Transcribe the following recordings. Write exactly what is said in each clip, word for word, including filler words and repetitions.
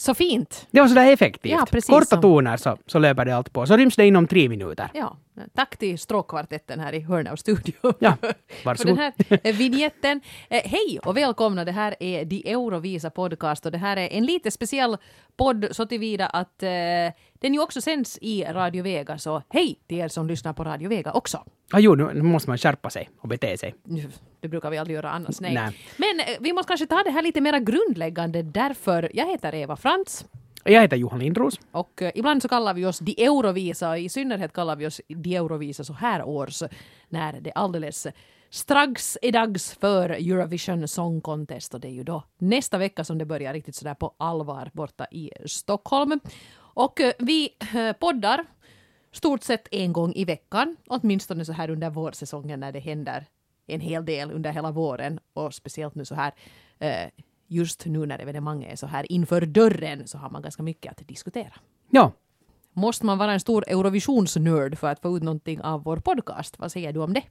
så fint. Det var så där effektivt. Ja, precis Korta som... toner så, så löper det allt på. Så ryms det inom tre minuter. Ja, tack till stråkkvartetten här i Hörnau studio. Ja, För varsågod. den här vignetten. Eh, hej och välkomna, det här är De Eurovisa podcast och det här är en lite speciell podd så tillvida att eh, den ju också sänds i Radio Vega, så hej till er som lyssnar på Radio Vega också. Ja, jo, nu måste man skärpa sig och bete sig. Det brukar vi aldrig göra annars, nej. nej. Men eh, vi måste kanske ta det här lite mer grundläggande, därför jag heter Eva Frans. Jag heter Johan Lindros. Och eh, ibland så kallar vi oss De Eurovisa, i synnerhet kallar vi oss De Eurovisa så här års, när det alldeles strax är dags för Eurovision Song Contest, och det är ju då nästa vecka som det börjar riktigt sådär på allvar borta i Stockholm. Och eh, vi eh, poddar stort sett en gång i veckan, åtminstone så här under vårsäsongen när det händer en hel del under hela våren, och speciellt nu så här eh, just nu när evenemanget är så här inför dörren så har man ganska mycket att diskutera. Ja. Måste man vara en stor Eurovisionsnörd för att få ut någonting av vår podcast? Vad säger du om det?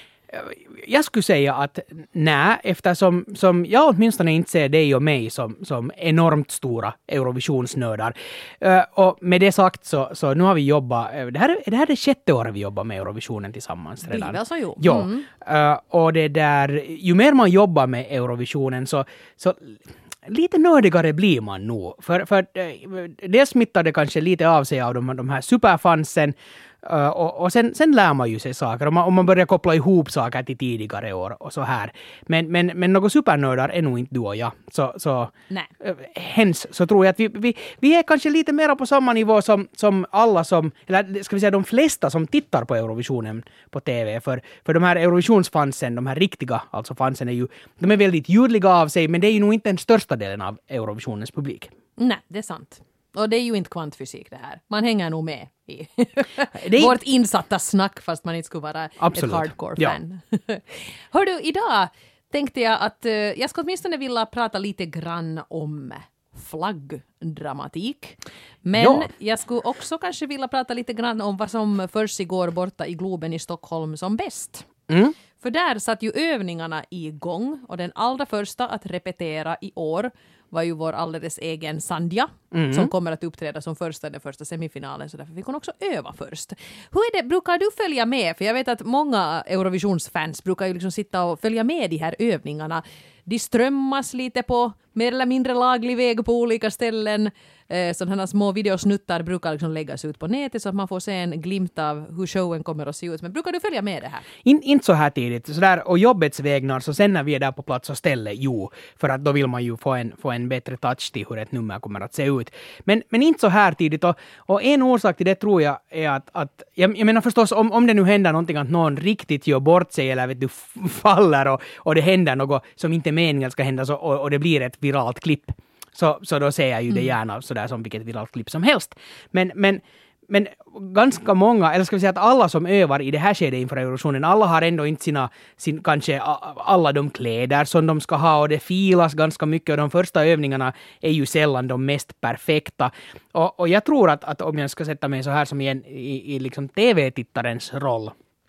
Jag skulle säga att nej, eftersom som jag åtminstone inte ser dig och mig som, som enormt stora Eurovisionsnördar. Uh, och med det sagt så, så nu har vi jobbat, uh, det här, det här är det sjätte året vi jobbar med Eurovisionen tillsammans redan. Det är väl så, jo. Ja, Mm. uh, och det där, ju mer man jobbar med Eurovisionen så, så lite nördigare blir man nog. För, för uh, det smittade kanske lite av sig av de, de här superfansen. Uh, och, och sen, sen lär man ju sig saker om man, om man börjar koppla ihop saker till tidigare år och så här. Men, men, men några supernördar är nog inte du och jag. Så, så uh, hens så tror jag att vi, vi, vi är kanske lite mer på samma nivå som, som alla som, eller ska vi säga de flesta som tittar på Eurovisionen på T V. För, för de här Eurovisionsfansen, de här riktiga alltså fansen är ju, de är väldigt ljudliga av sig, men det är ju nog inte den största delen av Eurovisionens publik. Nej, det är sant. Och det är ju inte kvantfysik det här. Man hänger nog med i är... vårt insatta snack fast man inte skulle vara Absolut. ett hardcore-fan. Ja. Hör du, idag tänkte jag att uh, jag ska åtminstone vilja prata lite grann om flaggdramatik. Men ja. Jag skulle också kanske vilja prata lite grann om vad som försiggår borta i Globen i Stockholm som bäst. Mm. För där satt ju övningarna igång och den allra första att repetera i år var ju vår alldeles egen Sandja mm. som kommer att uppträda som första i den första semifinalen, så därför fick hon också öva först. Hur är det, brukar du följa med? För jag vet att många Eurovisionsfans brukar ju liksom sitta och följa med de här övningarna. De strömmas lite på mer eller mindre laglig väg på olika ställen. Eh, sådana små videosnuttar brukar liksom läggas ut på nätet så att man får se en glimt av hur showen kommer att se ut. Men brukar du följa med det här? In, inte så här tidigt. Så där, och jobbets vägnar, så sen när vi är där på plats och ställer, jo. För att då vill man ju få en, få en bättre touch till hur ett nummer kommer att se ut. Men, men inte så här tidigt. Och, och en orsak till det tror jag är att, att jag, jag menar förstås om, om det nu händer någonting att någon riktigt gör bort sig eller vet du, faller och, och det händer något som inte meningen ska hända så, och, och det blir ett viralt klipp. Så, så då ser jag ju det gärna sådär som vilket viralt klipp som helst. Men, men, men ganska många, eller ska vi säga att alla som övar i det här skedet inför Eurovisionen, alla har ändå inte sina, sin, kanske alla de kläder som de ska ha, och det filas ganska mycket, och de första övningarna är ju sällan de mest perfekta. Och, och jag tror att, att om jag ska sätta mig så här som i, en, i, i liksom T V-tittarens roll,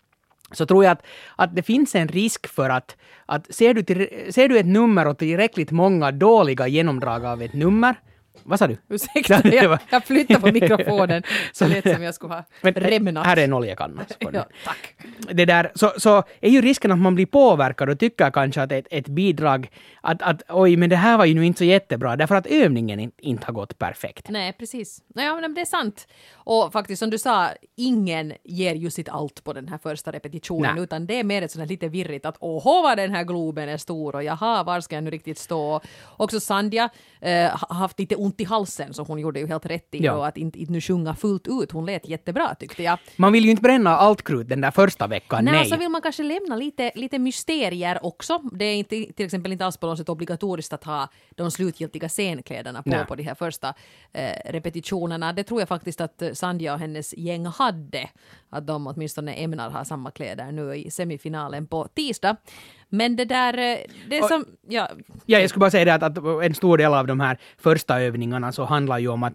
så tror jag att, att det finns en risk för att, att ser, du till, ser du ett nummer och tillräckligt många dåliga genomdrag av ett nummer. Vad sa du? Ursäkta, jag, jag flyttar på mikrofonen så lätt som jag skulle ha rämnat. Här är en oljekanna. Ja, tack. Det där, så, så är ju risken att man blir påverkad och tycker kanske att ett, ett bidrag, att, att oj, men det här var ju nu inte så jättebra, därför att övningen in, inte har gått perfekt. Nej, precis. Ja, men det är sant. Och faktiskt som du sa, ingen ger ju sitt allt på den här första repetitionen. Nej. Utan det är mer ett sådant lite virrigt att åh, vad den här globen är stor och jaha, var ska jag nu riktigt stå? Också Sandja eh, har haft lite ont i halsen, så hon gjorde ju helt rätt i ja. Och att inte, inte nu sjunga fullt ut. Hon lät jättebra tyckte jag. Man vill ju inte bränna allt krut den där första veckan, nej. Nej, så vill man kanske lämna lite, lite mysterier också. Det är inte, till exempel inte alls på något sätt obligatoriskt att ha de slutgiltiga scenkläderna på, på de här första eh, repetitionerna. Det tror jag faktiskt att Sandja och hennes gäng hade. Att de åtminstone ämnar ha samma kläder nu i semifinalen på tisdag. Men det där, det är som... Ja, ja, jag skulle bara säga det att, att en stor del av de här första övningarna så handlar ju om att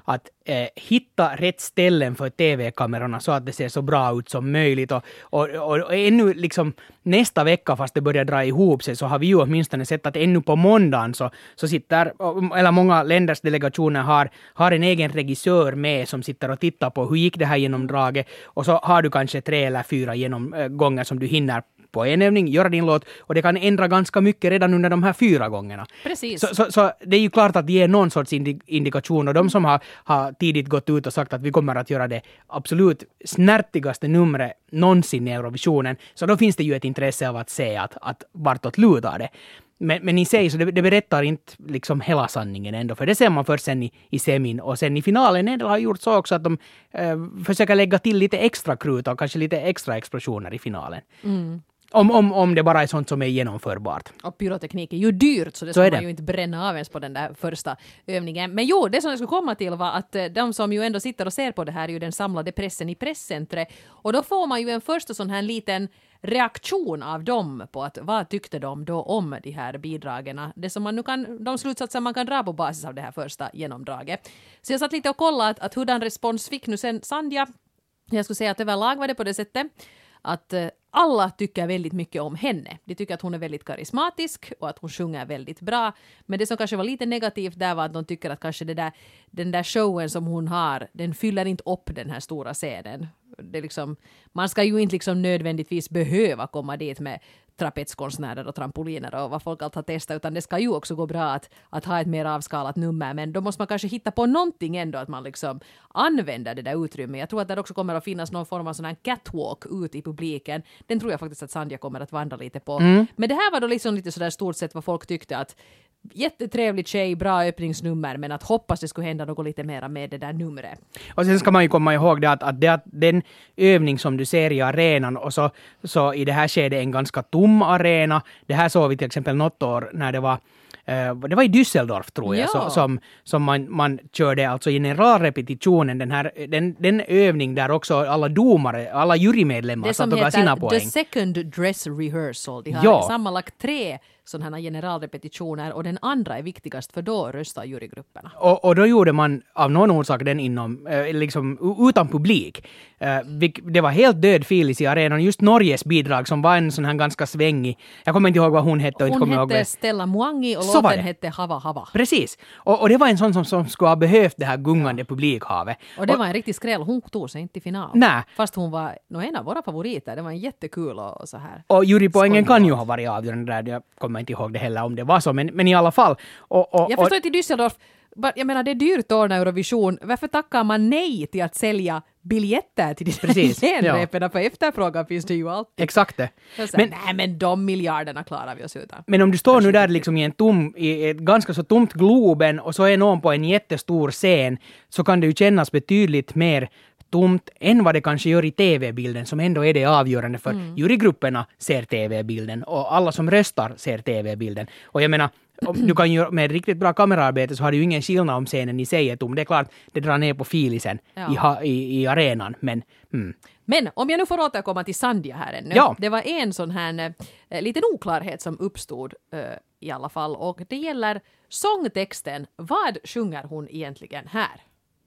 att eh, hitta rätt ställen för tv-kamerorna så att det ser så bra ut som möjligt. Och, och, och, och ännu liksom nästa vecka, fast det börjar dra ihop sig, så har vi ju åtminstone sett att ännu på måndagen så, så sitter, eller många länders delegationer har, har en egen regissör med som sitter och tittar på hur gick det här genomdraget, och så har du kanske tre eller fyra genomgångar som du hinner på en övning, göra din låt, och det kan ändra ganska mycket redan under de här fyra gångerna. Precis. Så, så, så det är ju klart att det ger någon sorts indi- indikation, och de som har, har tidigt gått ut och sagt att vi kommer att göra det absolut snärtigaste numret någonsin i Eurovisionen, så då finns det ju ett intresse av att se att, att vartåt lutar det. Men, men i sig så det, det berättar inte liksom hela sanningen ändå, för det ser man först sen i, i semin, och sen i finalen en del har gjort så också att de eh, försöker lägga till lite extra krut och kanske lite extra explosioner i finalen. Mm. Om, om, om det bara är sånt som är genomförbart. Och pyroteknik är ju dyrt, så det så ska man ju inte bränna av ens på den där första övningen. Men jo, det som jag skulle komma till var att de som ju ändå sitter och ser på det här är ju den samlade pressen i presscentret. Och då får man ju en första sån här liten reaktion av dem på att vad tyckte de då om de här bidragen. Det som man nu kan, de slutsatser man kan dra på basis av det här första genomdraget. Så jag satt lite och kollade att, att hurdan respons fick nu sen Sandhja. Jag skulle säga att överlag var det på det sättet att alla tycker väldigt mycket om henne. De tycker att hon är väldigt karismatisk och att hon sjunger väldigt bra. Men det som kanske var lite negativt där var att de tycker att kanske det där, den där showen som hon har, den fyller inte upp den här stora scenen. Det är liksom, man ska ju inte liksom nödvändigtvis behöva komma dit med trapetskonstnärer och trampoliner och vad folk allt har testat, utan det ska ju också gå bra att, att ha ett mer avskalat nummer, men då måste man kanske hitta på någonting ändå, att man liksom använder det där utrymmet. Jag tror att det också kommer att finnas någon form av sån här catwalk ut i publiken. Den tror jag faktiskt att Sandhja kommer att vandra lite på. Mm. Men det här var då liksom lite sådär stort sett vad folk tyckte, att jättetrevlig tjej, bra öppningsnummer, men att hoppas det skulle hända något lite mer med det där numret. Och sen ska man ju komma ihåg det att, att, det, att den övning som du ser i arenan, och så, så i det här skedet en ganska tom arena. Det här såg vi till exempel något år när det var Uh, det var i Düsseldorf tror jag, ja. så, som, som man, man körde alltså generalrepetitionen, den, här, den, den övning där också alla domare, alla jurymedlemmar satt och gav sina poäng. Det som heter The Second Dress Rehearsal. De har ja. sammanlagt tre sådana här generalrepetitioner, och den andra är viktigast, för då röstar jurygrupperna. Och, och då gjorde man av någon orsak den inom, eh, liksom utan publik. Eh, det var helt död filis i arenan. Just Norges bidrag som var en sån här ganska svängig, jag kommer inte ihåg vad hon hette. Och hon inte hette ihåg Stella Mwangi och så låten hette Hava Hava. Precis. Och, och det var en sån som, som skulle ha behövt det här gungande publikhavet. Och det och, var en riktig skräll. Hon tog sig inte i final. Nej. Fast hon var no, en av våra favoriter. Det var en jättekul och, och så här. Och jurypoängen kan ju ha varit avgörande där. Jag kommer inte ihåg det heller om det var så. Men, men i alla fall. Och, och, jag förstår inte i Düsseldorf. Jag menar, det är dyrt att ordna Eurovision. Varför tackar man nej till att sälja biljetter till de genrepen? Ja. För efterfrågan finns det ju alltid. Exakt det. Så, men, nej, men de miljarderna klarar vi oss utan. Men om du står Kanske nu där liksom i en tom, i ett ganska så tomt Globen, och så är någon på en jättestor scen, så kan det ju kännas betydligt mer tomt än vad det kanske gör i tv-bilden, som ändå är det avgörande, för mm. jurygrupperna ser tv-bilden och alla som röstar ser tv-bilden. Och jag menar, om du kan göra med riktigt bra kameraarbete så har det ju ingen skillnad om scenen i sig är tom. Det är klart, det drar ner på filisen ja. i, i, i arenan, men... Mm. Men om jag nu får återkomma till Sandhja här ännu. Ja. Det var en sån här äh, liten oklarhet som uppstod äh, i alla fall, och det gäller sångtexten. Vad sjunger hon egentligen här?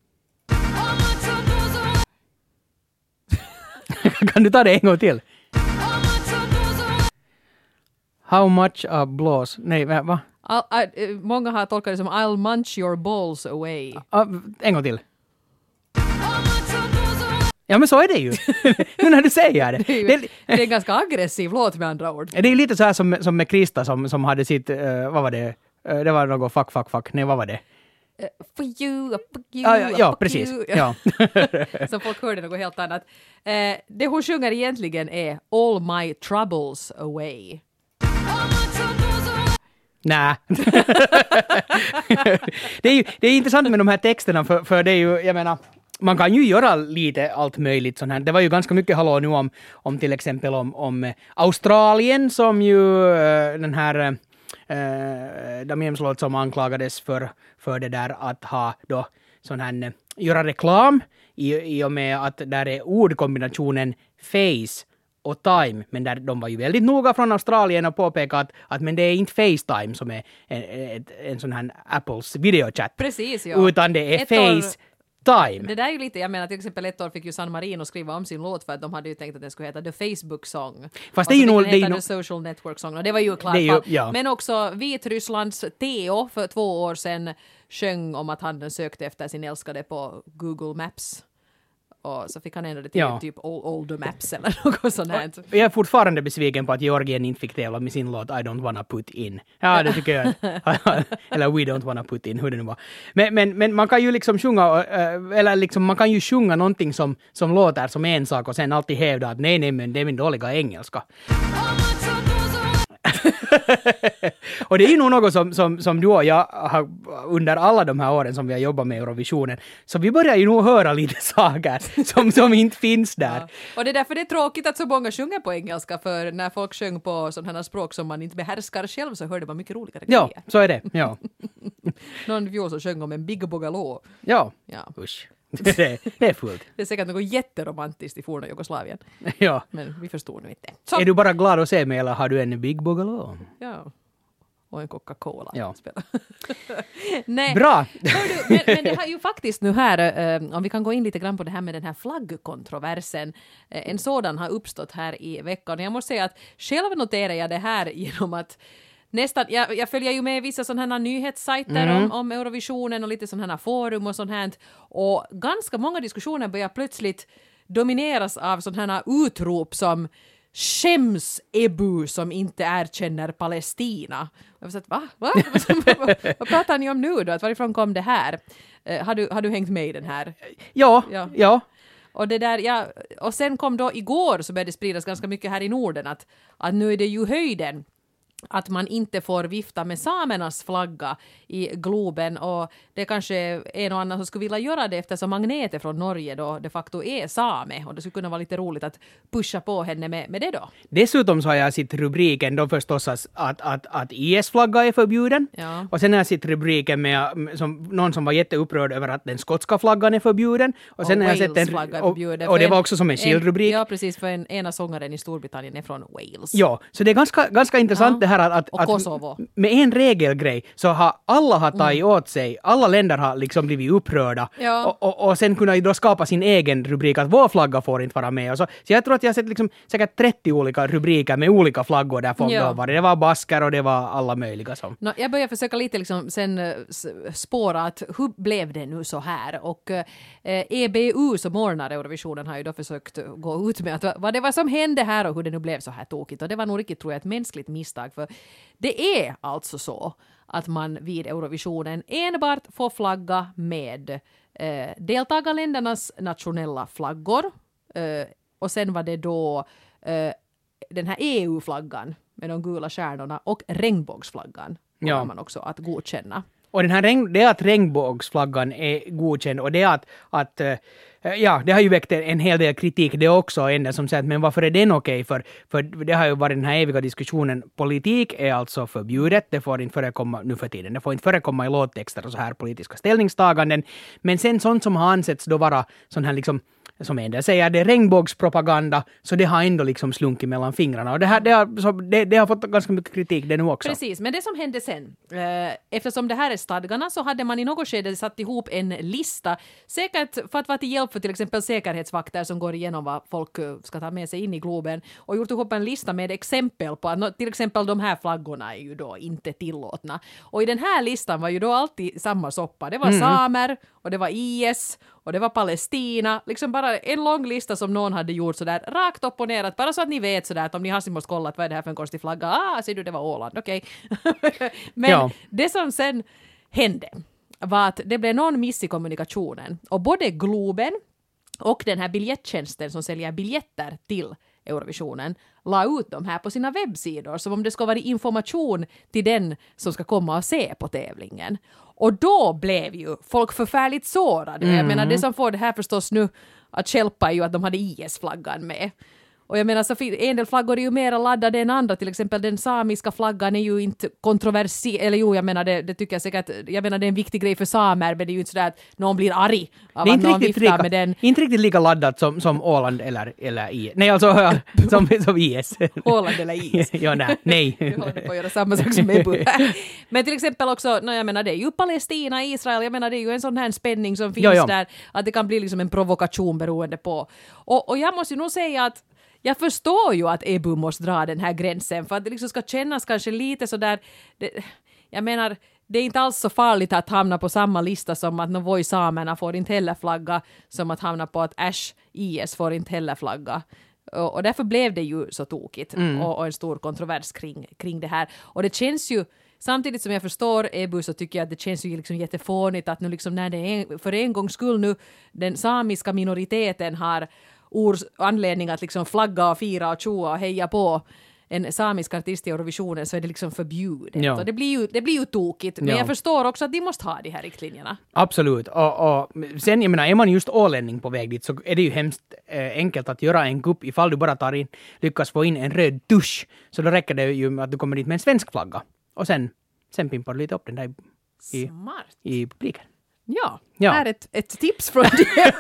Kan du ta det en gång till? How much a blows? Nej, va? I'll, I, många har tolkat det som I'll munch your balls away. Uh, en gång till. Ja, men så är det ju. Nu när du säger det. Det är, ju, det, det är en ganska aggressiv låt med andra ord. Det är lite så här som, som med Krista som, som hade sitt, uh, vad var det? Uh, det var något fuck, fuck, fuck. Nej, vad var det? Uh, for you, fuck you, ja, ja, ja fuck precis. You. Ja. Så folk hörde något helt annat. Uh, det hon sjunger egentligen är All my troubles away. Nej. det, är ju, det är intressant med de här texterna, för, för det är ju, jag menar, man kan ju göra lite allt möjligt sånt här. Det var ju ganska mycket hallå nu om, om till exempel om, om Australien, som ju uh, den här uh, Damiens låt som anklagades för, för det där att ha då sån här, uh, göra reklam i, i och med att där är ordkombinationen face och time, men där de var ju väldigt noga från Australien och påpekade att, att men det är inte FaceTime som är en, en, en sån här Apples videochatt. Precis, ja. Utan det är Ett face, time. Det där är ju lite, jag menar till exempel ett år fick ju San Marino skriva om sin låt för att de hade ju tänkt att den skulle heta The Facebook Song. Fast det är ju nog... Det är ju The Social Network Song och det var ju klart. Ju, ja. Men också Vitrysslands Theo för två år sedan sjöng om att han sökte efter sin älskade på Google Maps. Och så fick han ändå det till ja. typ Older Maps eller något sånt här. Jag är fortfarande besviken på att Georgien inte fick tävla med sin låt I don't wanna put in. Ja, det tycker jag. Eller We don't wanna put in, hur det nu var. Men, men, men man kan ju liksom sjunga, eller liksom man kan ju sjunga någonting som, som låter som en sak och sen alltid hävda att nej, nej, men det är min dåliga engelska. Och det är ju nog något som, som, som du och jag har under alla de här åren som vi har jobbat med Eurovisionen. Så vi börjar ju nog höra lite saker som, som inte finns där. Ja. Och det är därför det är tråkigt att så många sjunger på engelska, för när folk sjöng på sådana språk som man inte behärskar själv så hörde man mycket roligare ja, grejer. Ja, så är det. Ja. Någon fjol så sjöng om en Big Bogaloo. Ja, ja. Usch. Det är, det är fullt. Det är säkert något jätteromantiskt i forna Jugoslavien. Ja. Men vi förstår nu inte. Så. Är du bara glad att se mig eller har du en Big Bogaloo? Ja. Och en Coca-Cola. Ja. Nej. Bra! Du, men, men det har ju faktiskt nu här, eh, om vi kan gå in lite grann på det här med den här flaggkontroversen. Eh, en sådan har uppstått här i veckan. Och jag måste säga att själv noterar jag det här genom att nästan, jag, jag följer ju med vissa sådana här nyhetssajter mm. om, om Eurovisionen och lite sådana här forum och sånt här. Och ganska många diskussioner börjar plötsligt domineras av sådana här utrop som skäms Ebu som inte erkänner Palestina. Jag har sagt, va? va? Vad pratar ni om nu då? Att varifrån kom det här? Uh, har, du, har du hängt med i den här? Ja, ja. ja. Och, det där, ja, och sen kom då igår så började det spridas ganska mycket här i Norden att, att nu är det ju höjden att man inte får vifta med samernas flagga i Globen, och det kanske är en och annan som skulle vilja göra det eftersom Agnete från Norge då de facto är same, och det skulle kunna vara lite roligt att pusha på henne med, med det då. Dessutom så har jag sett rubriken då förstås att, att, att I S-flagga är förbjuden, ja. Och sen har jag sett rubriken med som, någon som var jätteupprörd över att den skotska flaggan är förbjuden, och sen och har jag sett en, är och, och det var också som en skildrubrik. Ja, precis, för en, ena sångaren i Storbritannien är från Wales. Ja, så det är ganska, ganska intressant ja. det här att, och Kosovo. Att med en regelgrej så har alla har tagit mm. åt sig, alla länder har liksom blivit upprörda, ja. och, och, och sen kunna då skapa sin egen rubrik att vår flagga får inte vara med. Och så, så jag tror att jag har sett liksom säkert trettio olika rubriker med olika flaggor där folk ja. var. Det var basker och det var alla möjliga som. No, jag börjar försöka lite liksom sen uh, spåra att hur blev det nu så här? Och uh, E B U som ordnar Eurovisionen har ju då försökt gå ut med att vad det var som hände här och hur det nu blev så här tokigt. Och det var nog riktigt, tror jag, ett mänskligt misstag, för det är alltså så att man vid Eurovisionen enbart får flagga med eh, deltagarländernas nationella flaggor. Eh, och sen var det då eh, den här E U-flaggan med de gula stjärnorna och regnbågsflaggan kommer ja. man också att godkänna. Och den här regn, det är att regnbågsflaggan är godkänd, och det är att, att ja, det har ju väckt en hel del kritik det också, ändå som säger att men varför är den okej? För, för det har ju varit den här eviga diskussionen, politik är alltså förbjudet, det får inte förekomma nu för tiden, det får inte förekomma i låttexter och så här politiska ställningstaganden, men sen sånt som har ansetts då vara sån här liksom, som en del säger, det är regnbågspropaganda, så det har ändå liksom slunkit mellan fingrarna. Och det, här, det, har, så det, det har fått ganska mycket kritik det nu också. Precis, men det som hände sen, eh, eftersom det här är stadgarna, så hade man i något skede satt ihop en lista, säkert för att vara till hjälp för till exempel säkerhetsvakter som går igenom vad folk ska ta med sig in i Globen, och gjort ihop en lista med exempel på att till exempel de här flaggorna är ju då inte tillåtna. Och i den här listan var ju då alltid samma soppa. Det var mm. samer, och det var I S, och det var Palestina, liksom bara en lång lista som någon hade gjort sådär rakt upp och ner, bara så att ni vet sådär att om ni har måste kolla vad är det här för en konstig flagga, ah, ser du, det var Åland, okej. Okay. Men ja. det som sen hände var att det blev någon miss i kommunikationen, och både Globen och den här biljettjänsten som säljer biljetter till Eurovisionen la ut dem här på sina webbsidor som om det ska vara information till den som ska komma och se på tävlingen. Och då blev ju folk förfärligt sårade. Mm. Jag menar, det som får det här förstås nu att hjälpa är ju att de hade I S-flaggan med. Och jag menar, så en del flaggor är ju mer laddade än andra. Till exempel den samiska flaggan är ju inte kontroversiell. Eller jo, jag menar, det, det tycker jag säkert. Jag menar, det är en viktig grej för samer, men det är ju inte sådär att någon blir arg av det är att inte någon riktigt, viftar lika, med den. inte riktigt lika laddat som, som Åland eller, eller I S. Nej, alltså som, som I S. Åland eller I S. ja, nej. nej. Vi håller på att göra samma sak som Ebu. Men till exempel också, no, jag menar, det är ju Palestina, Israel. Jag menar, det är ju en sån här spänning som finns jo, jo. där. Att det kan bli liksom en provokation beroende på. Och, och jag måste ju nog säga att jag förstår ju att Ebu måste dra den här gränsen för att det liksom ska kännas kanske lite så där. Det, jag menar, det är inte alls så farligt att hamna på samma lista som att Novoi samerna får inte heller flagga, som att hamna på att Ash I S får inte heller flagga. Och, och därför blev det ju så tokigt mm. och, och en stor kontrovers kring, kring det här. Och det känns ju, samtidigt som jag förstår Ebu, så tycker jag att det känns ju liksom jättefånigt att nu liksom när det är för en gångs skull nu den samiska minoriteten har ors anledning att liksom flagga och fira och tjoa och heja på en samisk artist i Eurovisionen, så är det liksom förbjudet. Ja. Och det blir ju, det blir ju tokigt. Men ja. jag förstår också att de måste ha de här riktlinjerna. Absolut. Och, och sen, jag menar, är man just ålänning på väg dit så är det ju hemskt eh, enkelt att göra en kupp ifall du bara tar in, lyckas få in en röd tusch. Så då räcker det ju med att du kommer dit med en svensk flagga. Och sen, sen pimpar du lite upp den där i, Smart. i publiken. Ja, ja, här är ett, ett tips från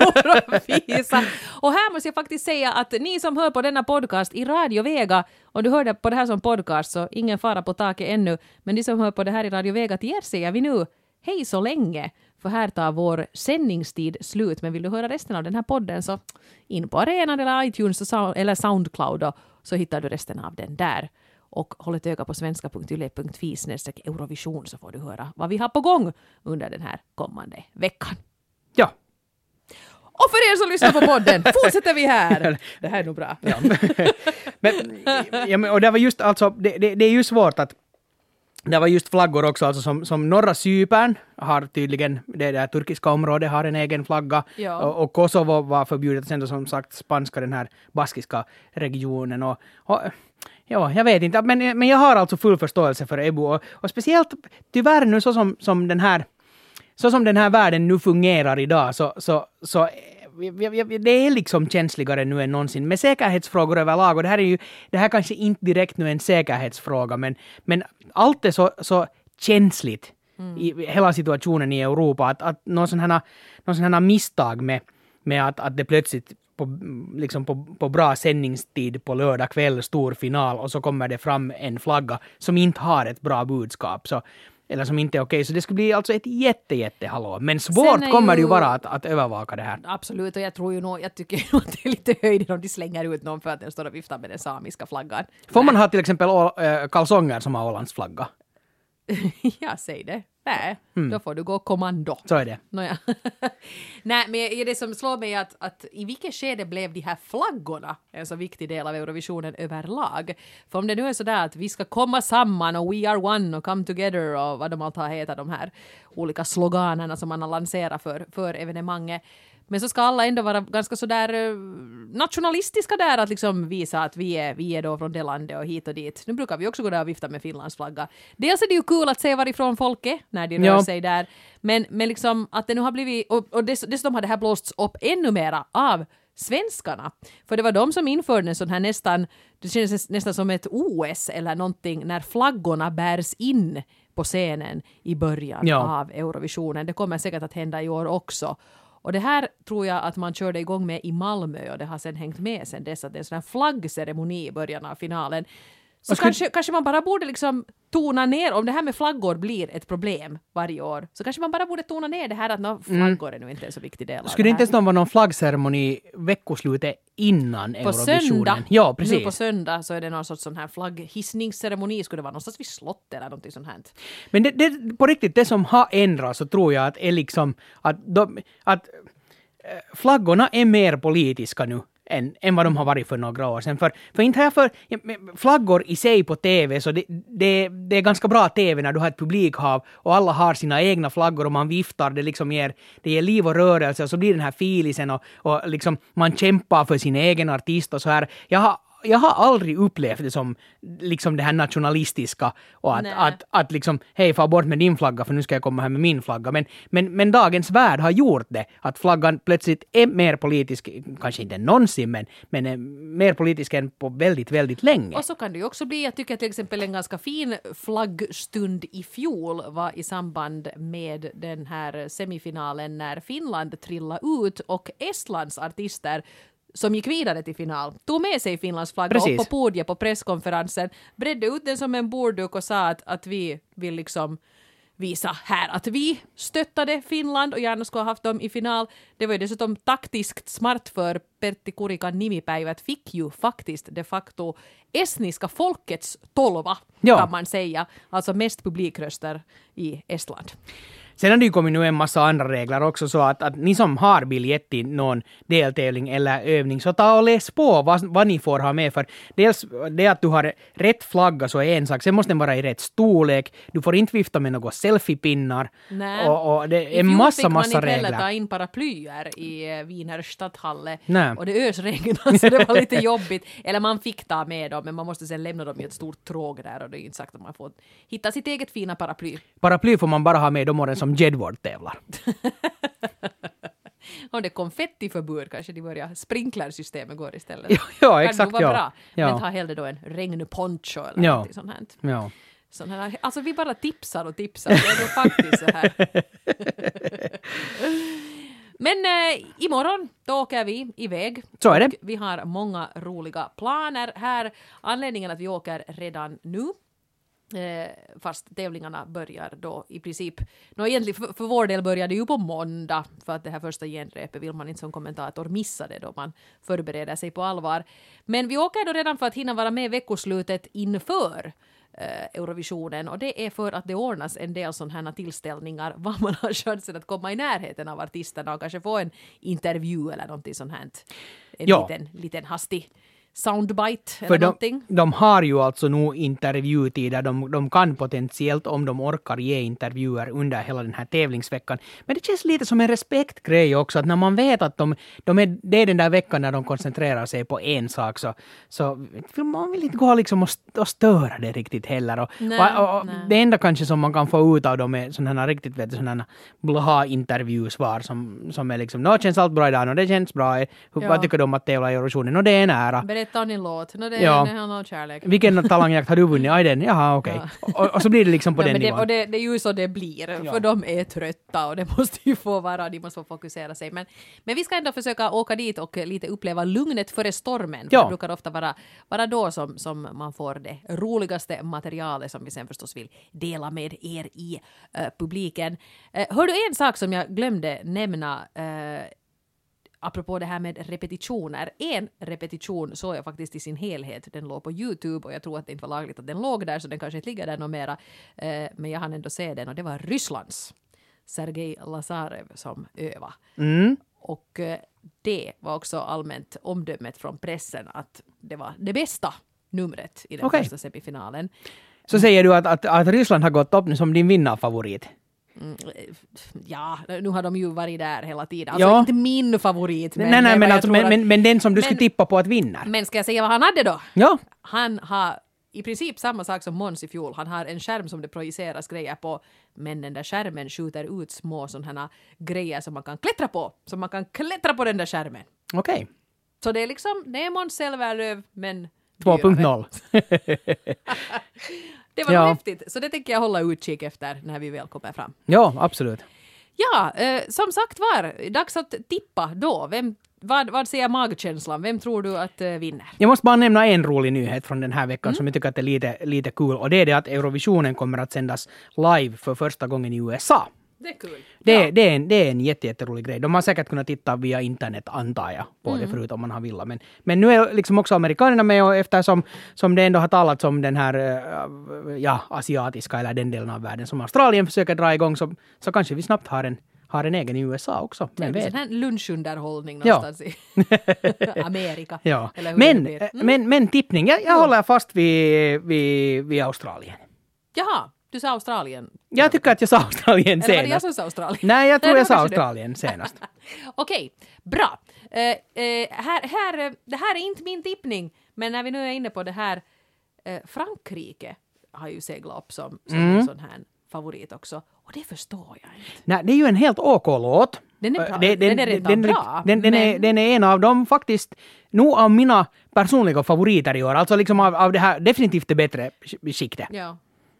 Eurovisa. Och här måste jag faktiskt säga att ni som hör på denna podcast i Radio Vega, och du hörde på det här som podcast så ingen fara på taket ännu, men ni som hör på det här i Radio Vega, till er säger vi nu hej så länge, för här tar vår sändningstid slut. Men vill du höra resten av den här podden så in på arenan eller iTunes eller Soundcloud, och så hittar du resten av den där. Och håll ett öga på svenska punkt yle punkt fi snedstreck Eurovision så får du höra vad vi har på gång under den här kommande veckan. Ja. Och för er som lyssnar på podden, fortsätter vi här. Det här är nog bra. Ja. men, ja, men, och det var just alltså, det, det, det är ju svårt att det var just flaggor också, alltså som, som norra Cypern har tydligen, det där turkiska området har en egen flagga, ja. och, och Kosovo var förbjudet, sen då som sagt spanska, den här baskiska regionen, och, och ja, jag vet inte, men, men jag har alltså full förståelse för Ebu, och, och speciellt tyvärr nu så som, som den här så som den här världen nu fungerar idag, så, så, så det är liksom känsligare nu än någonsin med säkerhetsfrågor överlag, och det här är ju, det här kanske inte direkt nu en säkerhetsfråga, men, men allt är så, så känsligt mm. i hela situationen i Europa, att, att någon sån här, någon sån här misstag med, med att, att det plötsligt på, liksom på, på bra sändningstid på lördag kväll, stor final, och så kommer det fram en flagga som inte har ett bra budskap, så eller som inte är okej. Så det skulle bli alltså ett jätte, jätte hallå. Men svårt kommer ju... det ju vara att, att övervaka det här. Absolut, och jag tror ju nog, jag tycker nog att det är lite höjden om de slänger ut någon för att den står och viftar med den samiska flaggan. Får man ha till exempel å, äh, kalsonger som har Ålands flagga? Ja, säg det. Nej, mm. då får du gå kommando. Så är det. Nåja. Nej, men det som slår mig är att, att i vilket skede blev de här flaggorna en så viktig del av Eurovisionen överlag? För om det nu är sådär att vi ska komma samman och we are one och come together och vad de allt har hetat, de här olika sloganerna som man har lanserat för, för evenemanget. Men så ska alla ändå vara ganska sådär nationalistiska där, att liksom visa att vi är, vi är då från det landet och hit och dit. Nu brukar vi också gå där och vifta med Finlands flagga. Dels är det ju kul att se varifrån folk är när de rör ja. sig där. Men, men liksom att det nu har blivit, och, och dess, dessutom har det här blåsts upp ännu mera av svenskarna. För det var de som införde en sån här nästan, det känns nästan som ett O S eller någonting, när flaggorna bärs in på scenen i början ja. av Eurovisionen. Det kommer säkert att hända i år också. Och det här tror jag att man körde igång med i Malmö, och det har sen hängt med sen dess, att det är en sån här flaggceremoni i början av finalen. Så skulle... kanske, kanske man bara borde liksom tona ner, om det här med flaggor blir ett problem varje år, så kanske man bara borde tona ner det här att no, flaggor är nu inte en så viktig del av skulle det det inte ens vara någon flaggceremoni veckoslutet innan på Eurovisionen? Söndag, ja, precis. Nu på söndag så är det någon sorts sån här flagghissningsceremoni, skulle det vara någonstans vid slott eller någonting sånt här. Men det, det, på riktigt, det som har ändrats så tror jag att är liksom att, de, att flaggorna är mer politiska nu än, än vad de har varit för några år sedan. För, för inte här för flaggor i sig på tv, så det, det, det är ganska bra tv när du har ett publikhav och alla har sina egna flaggor och man viftar, det liksom ger, det ger liv och rörelse, och så blir den här filisen och, och liksom man kämpar för sin egen artist och så här. Jag har jag har aldrig upplevt det som liksom det här nationalistiska och att, att, att liksom, hej, far bort med din flagga för nu ska jag komma här med min flagga. Men, men, men dagens värld har gjort det, att flaggan plötsligt är mer politisk, kanske inte någonsin, men, men är mer politisk än på väldigt, väldigt länge. Och så kan det ju också bli, jag tycker till exempel en ganska fin flaggstund i fjol var i samband med den här semifinalen när Finland trillade ut och Estlands artister som gick vidare till final, tog med sig Finlands flagga Precis. upp på podiet på presskonferensen, bredde ut den som en bordduk och sa att, att vi vill liksom visa här att vi stöttade Finland och gärna skulle ha haft dem i final. Det var ju dessutom taktiskt smart för Pertti Kurikan nimipäivät fick ju faktiskt de facto estniska folkets tolva, ja. kan man säga. Alltså mest publikröster i Estland. Sen har det ju kommit nu en massa andra regler också, så att, att ni som har biljett till någon deltävling eller övning, så ta och läs på vad, vad ni får ha med. För dels det att du har rätt flagga så är en sak, sen måste den vara i rätt storlek, du får inte vifta med några selfiepinnar. Nej. Och, och det är en massa, massa regler. I fjol fick man inte heller ta in paraplyer i Wiener Stadthalle. Nej. Och det ösregnade så det var lite jobbigt. Eller man fick ta med dem, men man måste sen lämna dem i ett stort tråg där och det är inte sagt att man får hitta sitt eget fina paraply. Paraply får man bara ha med de åren som Jedward tävlar. Om det är konfettiförbud kanske de börjar sprinklersystemet går istället. Ja, ja kan exakt. vara Ja. bra. Ja. Men ta hellre då en regnponcho eller Ja. något sånt här. Ja. Sån här. Alltså vi bara tipsar och tipsar. Det är nog faktiskt så här. Men eh, imorgon då åker vi iväg. Så är det. Och vi har många roliga planer här. Anledningen att vi åker redan nu. Eh, fast tävlingarna börjar då i princip, no, egentligen för, för vår del börjar det ju på måndag, för att det här första genrepet vill man inte som kommentator missa det då man förbereder sig på allvar. Men vi åker då redan för att hinna vara med veckoslutet inför eh, Eurovisionen, och det är för att det ordnas en del sådana här tillställningar var man har chansen att komma i närheten av artisterna och kanske få en intervju eller någonting sånt här. En Ja. liten, liten hastig soundbite eller För de, någonting. de har ju alltså nu intervjutider, de, de kan potentiellt om de orkar ge intervjuer under hela den här tävlingsveckan. Men det känns lite som en respektgrej också, att när man vet att de, de är, det är den där veckan när de koncentrerar sig på en sak, så, så man vill inte gå liksom och, och störa det riktigt heller. Och, Nej, och, och nej. det enda kanske som man kan få ut av dem är sådana här riktigt vet du, sådana blaha-intervjusvar som, som är liksom, nå känns allt bra idag, nå det känns bra, hur, Ja. vad tycker du om att tävla i Eurovisionen, nå det är nära. Berätta om din låt. No, det, Ja. det har någon kärlek. Vilken talangjakt har du vunnit? Aj den, jaha okej. Ja. Och, och så blir det liksom på Ja, den men det, nivån. och det, det är ju så det blir, Ja. för de är trötta och det måste ju få vara, de måste få fokusera sig. Men, men vi ska ändå försöka åka dit och lite uppleva lugnet före stormen. Ja. Det brukar ofta vara, vara då som, som man får det roligaste materialet som vi sen förstås vill dela med er i uh, publiken. Uh, hör du en sak som jag glömde nämna uh, apropå det här med repetitioner. En repetition såg jag faktiskt i sin helhet. Den låg på YouTube och jag tror att det inte var lagligt att den låg där, så den kanske inte ligger där något mera. Eh, men jag hann ändå se den och det var Rysslands Sergej Lazarev som öva. Mm. Och eh, det var också allmänt omdömet från pressen att det var det bästa numret i den Okej. första semifinalen. Så säger du att, att, att Ryssland har gått upp nu som din vinnarfavorit. Mm, ja, nu har de ju varit där hela tiden. Alltså Ja. inte min favorit. Men, nej, nej, vad men, jag alltså, tror men, att- men, men den som du men- skulle tippa på att vinna. Men ska jag säga vad han hade då? Ja, Han har i princip samma sak som Måns i fjol. Han har en skärm som det projiceras grejer på, men den där skärmen skjuter ut små sådana grejer som man kan klättra på. Så man kan klättra på den där skärmen. okej. Så det är liksom, det är Måns Zelmerlöw, men två punkt dyrare. noll. Det var Ja. häftigt. Så det tänker jag hålla utkik efter när vi väl kommer fram. Ja, absolut. Ja, eh, som sagt var, dags att tippa då. Vem, vad, vad säger magkänslan? Vem tror du att eh, vinner? Jag måste bara nämna en rolig nyhet från den här veckan som jag tycker att är lite, lite kul. Och det är det att Eurovisionen kommer att sändas live för första gången i U S A. Det är kul. Det, Ja. det, är en, det är en jätte, jätterolig grej. De har säkert kunnat titta via internet, antar jag, på det förut om man har velat. Men, men nu är liksom också amerikanerna med, och eftersom som det ändå har talats om den här eh, ja, asiatiska eller den delen av världen som Australien försöker dra igång, så, så kanske vi snabbt har en, har en egen i U S A också. Det är Men en vet. sån här lunchunderhållning Ja. någonstans i Amerika. Ja. Eller hur Men, det blir. eh, men, men tippning, jag, jag håller fast vid, vid, vid Australien. Jaha, du sa Australien. Jag tycker att jag sa Australien Eller var det jag senast. som sa Australien? Nej, jag tror det jag var sa kanske det. Australien senast. Okej, bra. Eh, eh, här, här, eh, det här är inte min tippning, Men när vi nu är inne på det här, eh, Frankrike har ju seglat upp som, som Mm. en sån här favorit också. Och det förstår jag inte. Nej, det är ju en helt OK-låt. Den är bra. Det- Den är redan bra, Den, den, är, men- den är en av dem faktiskt, nog av mina personliga favoriter i år. Alltså liksom av, av det här definitivt det bättre skiktet. Ja.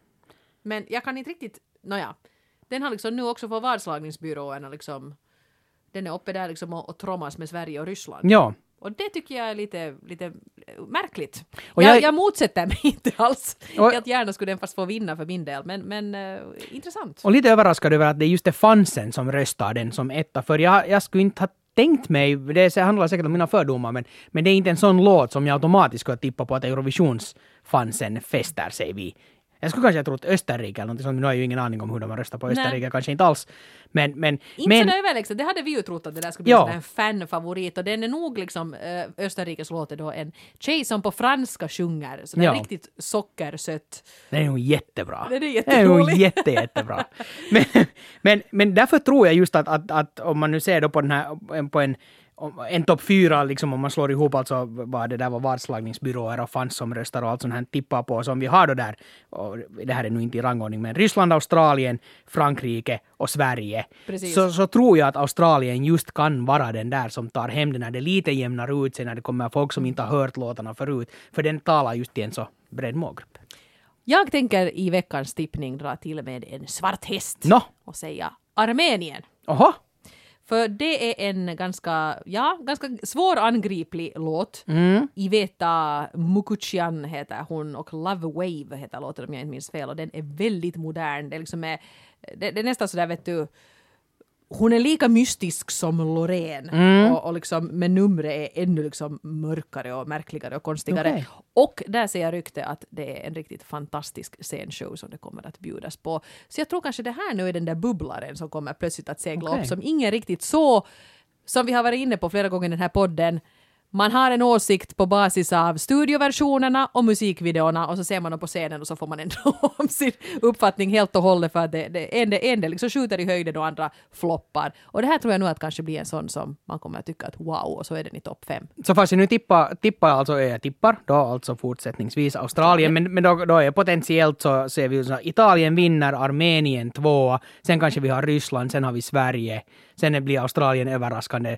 Men jag kan inte riktigt, nåja. Den har liksom nu också på vadslagningsbyråerna liksom, den är uppe där liksom och, och trommas med Sverige och Ryssland. Ja. Och det tycker jag är lite, lite märkligt. Och jag, jag- jag motsätter mig inte alls. Och- Helt gärna skulle den fast få vinna för min del. Men, men uh, intressant. Och lite överraskad över att det är just det fansen som röstar den som etta. För jag, jag skulle inte ha tänkt mig, det handlar säkert om mina fördomar, men, men det är inte en sån låt som jag automatiskt skulle tippa på att Eurovisionsfansen fäster sig vid. Jag skulle kanske ha trott Österrike eller någonting sånt, men nu har jag ju ingen aning om hur de röstar på Österrike, Nej. kanske inte alls. Men, men, Inte men så överlägset, det hade vi ju trott att det där skulle bli Ja. en fanfavorit. Och den är nog liksom, äh, Österrikes låt är då en tjej som på franska sjunger. Så det är Ja. riktigt sockersött. det är nog jättebra. Den är Det är nog jätterolig. jätte, jättebra. Men, men, men därför tror jag just att, att, att om man nu ser då på den här, på en om- en topp fyra, liksom om man slår ihop alltså vad det där var vadslagningsbyråer och fans som röstar och allt sånt här tippar på som vi har då där, och det här är nu inte i rangordning, men Ryssland, Australien, Frankrike och Sverige. Precis. Så, så tror jag att Australien just kan vara den där som tar hem den när det lite jämnar ut sig, när det kommer folk som inte har hört låtarna förut, för den talar just till en så bred målgrupp. Jag tänker i veckans tippning dra till med en svart häst Nå. och säga Armenien. Oho! För det är en ganska, ja, ganska svårangriplig låt. Mm. Iveta Mukuchian heter hon och Love Wave heter låten om jag inte minns fel. Och den är väldigt modern. Det är, liksom är, det, det är nästan sådär, vet du, hon är lika mystisk som Loreen. Mm. Och, och liksom, men numret är ännu liksom mörkare och märkligare och konstigare. Okej. Och där ser jag rykte att det är en riktigt fantastisk scenshow som det kommer att bjudas på. Så jag tror kanske det här nu är den där bubblaren som kommer plötsligt att segla Okej. upp, som ingen riktigt så, som vi har varit inne på flera gånger i den här podden. Man har en åsikt på basis av studioversionerna och musikvideorna och så ser man dem på scenen och så får man ändå om sin uppfattning helt och hållet, för att det, det, en, en del liksom skjuter i höjden och andra floppar. Och det här tror jag nog att kanske blir en sån som man kommer att tycka att wow, och så är den i topp fem. Så fast jag nu tippar, tippar alltså, jag tippar då alltså fortsättningsvis Australien, men, men då, då är potentiellt så ser vi ju så Italien vinner, Armenien tvåa, sen kanske vi har Ryssland, sen har vi Sverige, sen blir Australien överraskande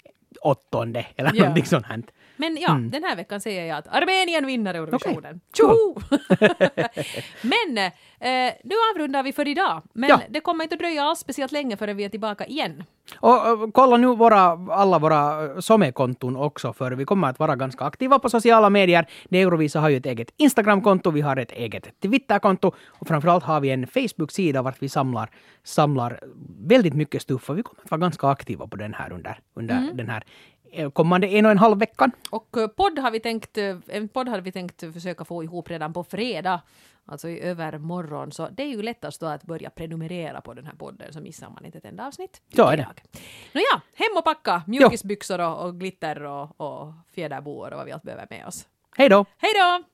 åttonde eller Ja. någonting sånt här. Men ja, den här veckan säger jag att Armenien vinner Eurovisionen. Cool. Tjoho! Men eh, nu avrundar vi för idag. Men Ja. det kommer inte att dröja alls speciellt länge förrän vi är tillbaka igen. Och, och kolla nu våra, alla våra eh, Some-konton också, för vi kommer att vara ganska aktiva på sociala medier. Det Eurovisa har ju ett eget Instagram-konto, vi har ett eget Twitter-konto och framförallt har vi en Facebook-sida vart vi samlar, samlar väldigt mycket stuff, och vi kommer att vara ganska aktiva på den här under, under Mm. den här eh, kommande en och en halv veckan. Och eh, podd har vi tänkt, eh, en podd hade vi tänkt försöka få ihop redan på fredag, alltså i övermorgon. Så det är ju lättast då att börja prenumerera på den här podden, så missar man inte ett enda avsnitt. Så är det. Nåja, hem och packa mjukisbyxor och, och glitter och, och fjäderboor och vad vi allt behöver med oss. Hej då! Hej då!